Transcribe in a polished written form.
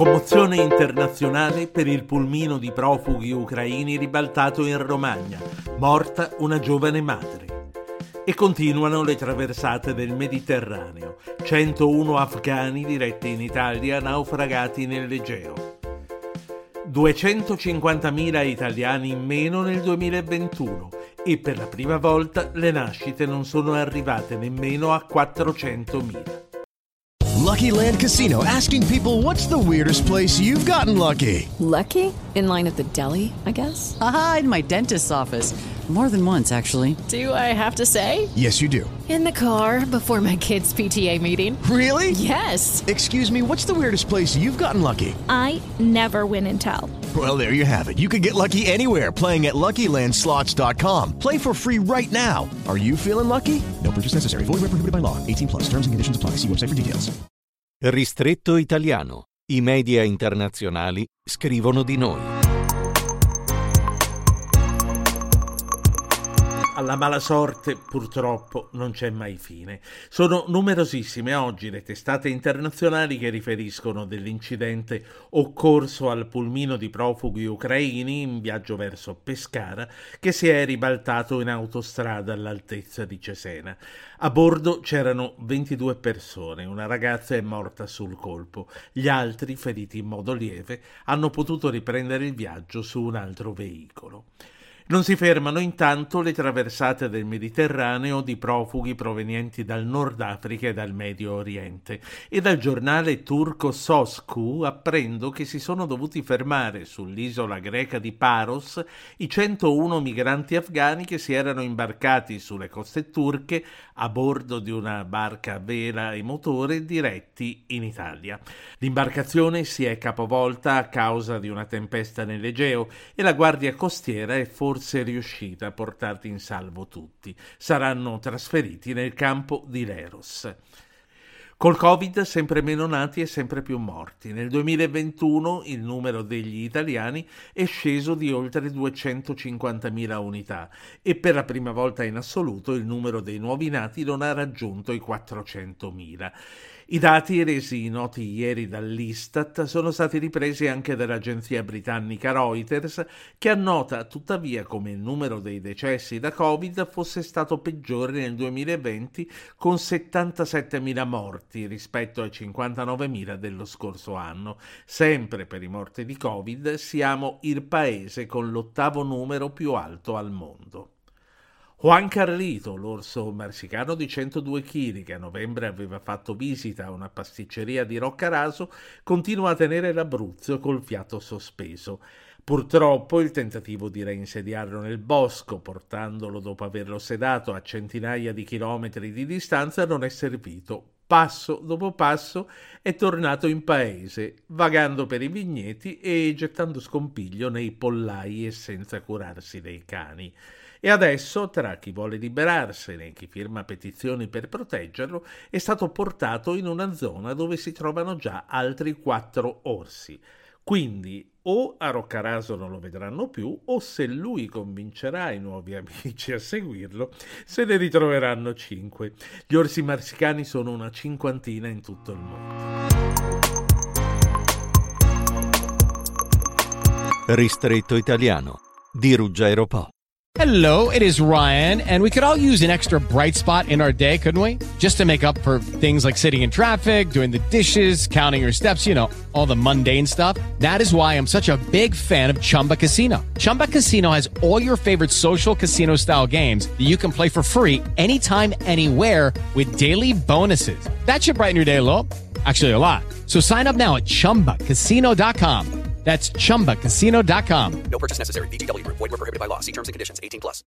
Commozione internazionale per il pulmino di profughi ucraini ribaltato in Romagna. Morta una giovane madre. E continuano le traversate del Mediterraneo. 101 afghani diretti in Italia naufragati nell'Egeo. 250.000 italiani in meno nel 2021 e per la prima volta le nascite non sono arrivate nemmeno a 400.000. Lucky Land Casino, asking people, what's the weirdest place you've gotten lucky? Lucky? In line at the deli, I guess? Aha, in my dentist's office. More than once, actually. Do I have to say? Yes, you do. In the car before my kids' PTA meeting. Really? Yes. Excuse me, what's the weirdest place you've gotten lucky? I never win and tell. Well, there you have it. You can get lucky anywhere, playing at LuckyLandSlots.com. Play for free right now. Are you feeling lucky? No purchase necessary. Void where prohibited by law. 18+. Terms and conditions apply. See website for details. Ristretto italiano. I media internazionali scrivono di noi. Alla mala sorte, purtroppo, non c'è mai fine. Sono numerosissime oggi le testate internazionali che riferiscono dell'incidente occorso al pulmino di profughi ucraini in viaggio verso Pescara, che si è ribaltato in autostrada all'altezza di Cesena. A bordo c'erano 22 persone, una ragazza è morta sul colpo. Gli altri, feriti in modo lieve, hanno potuto riprendere il viaggio su un altro veicolo. Non si fermano intanto le traversate del Mediterraneo di profughi provenienti dal Nord Africa e dal Medio Oriente e dal giornale turco Sosku apprendo che si sono dovuti fermare sull'isola greca di Paros i 101 migranti afghani che si erano imbarcati sulle coste turche a bordo di una barca a vela e motore diretti in Italia. L'imbarcazione si è capovolta a causa di una tempesta nell'Egeo e la guardia costiera è forse riuscita a portarli in salvo tutti. Saranno trasferiti nel campo di Leros. Col Covid sempre meno nati e sempre più morti. Nel 2021 il numero degli italiani è sceso di oltre 250.000 unità e per la prima volta in assoluto il numero dei nuovi nati non ha raggiunto i 400.000. I dati resi noti ieri dall'Istat sono stati ripresi anche dall'agenzia britannica Reuters, che annota tuttavia come il numero dei decessi da Covid fosse stato peggiore nel 2020 con 77.000 morti rispetto ai 59.000 dello scorso anno. Sempre per i morti di Covid siamo il paese con l'8º numero più alto al mondo. Juan Carlito, l'orso marsicano di 102 kg che a novembre aveva fatto visita a una pasticceria di Roccaraso, continua a tenere l'Abruzzo col fiato sospeso. Purtroppo il tentativo di reinsediarlo nel bosco, portandolo dopo averlo sedato a centinaia di chilometri di distanza, non è servito. Passo dopo passo è tornato in paese, vagando per i vigneti e gettando scompiglio nei pollai e senza curarsi dei cani. E adesso, tra chi vuole liberarsene e chi firma petizioni per proteggerlo, è stato portato in una zona dove si trovano già altri 4 orsi. Quindi o a Roccaraso non lo vedranno più, o se lui convincerà i nuovi amici a seguirlo, se ne ritroveranno 5. Gli orsi marsicani sono una 50 in tutto il mondo. Ristretto italiano di Ruggero Po. Hello, it is Ryan, and we could all use an extra bright spot in our day, couldn't we? Just to make up for things like sitting in traffic, doing the dishes, counting your steps, you know, all the mundane stuff. That is why I'm such a big fan of Chumba Casino. Chumba Casino has all your favorite social casino-style games that you can play for free anytime, anywhere with daily bonuses. That should brighten your day a little. Actually, a lot. So sign up now at ChumbaCasino.com. That's ChumbaCasino.com. No purchase necessary. VGW Group. Void where prohibited by law. See terms and conditions. 18+.